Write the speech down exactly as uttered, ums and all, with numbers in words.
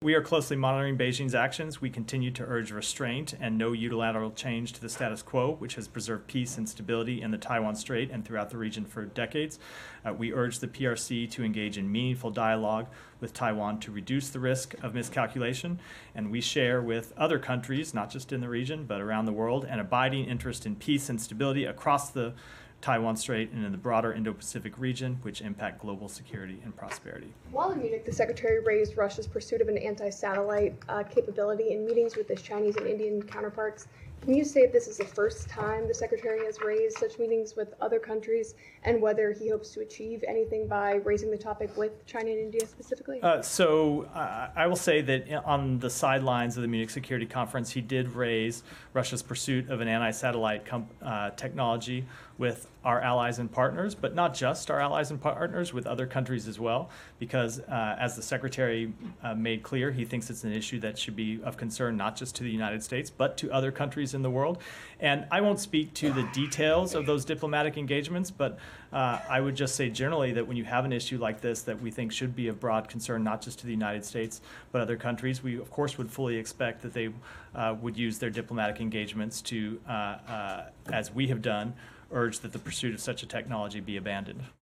We are closely monitoring Beijing's actions. We continue to urge restraint and no unilateral change to the status quo, which has preserved peace and stability in the Taiwan Strait and throughout the region for decades. Uh, we urge the P R C to engage in meaningful dialogue with Taiwan to reduce the risk of miscalculation. And we share with other countries, not just in the region, but around the world, an abiding interest in peace and stability across the Taiwan Strait and in the broader Indo-Pacific region, which impact global security and prosperity. While in Munich, the Secretary raised Russia's pursuit of an anti-satellite uh, capability in meetings with his Chinese and Indian counterparts. Can you say if this is the first time the Secretary has raised such meetings with other countries, and whether he hopes to achieve anything by raising the topic with China and India specifically? Uh, so uh, I will say that on the sidelines of the Munich Security Conference, he did raise Russia's pursuit of an anti-satellite com- uh, technology with our allies and partners, but not just our allies and partners, with other countries as well, because uh, as the Secretary uh, made clear, he thinks it's an issue that should be of concern not just to the United States, but to other countries in the world. And I won't speak to the details of those diplomatic engagements, but uh, I would just say generally that when you have an issue like this that we think should be of broad concern not just to the United States, but other countries, we of course would fully expect that they uh, would use their diplomatic engagements to, uh, uh, as we have done, urge that the pursuit of such a technology be abandoned.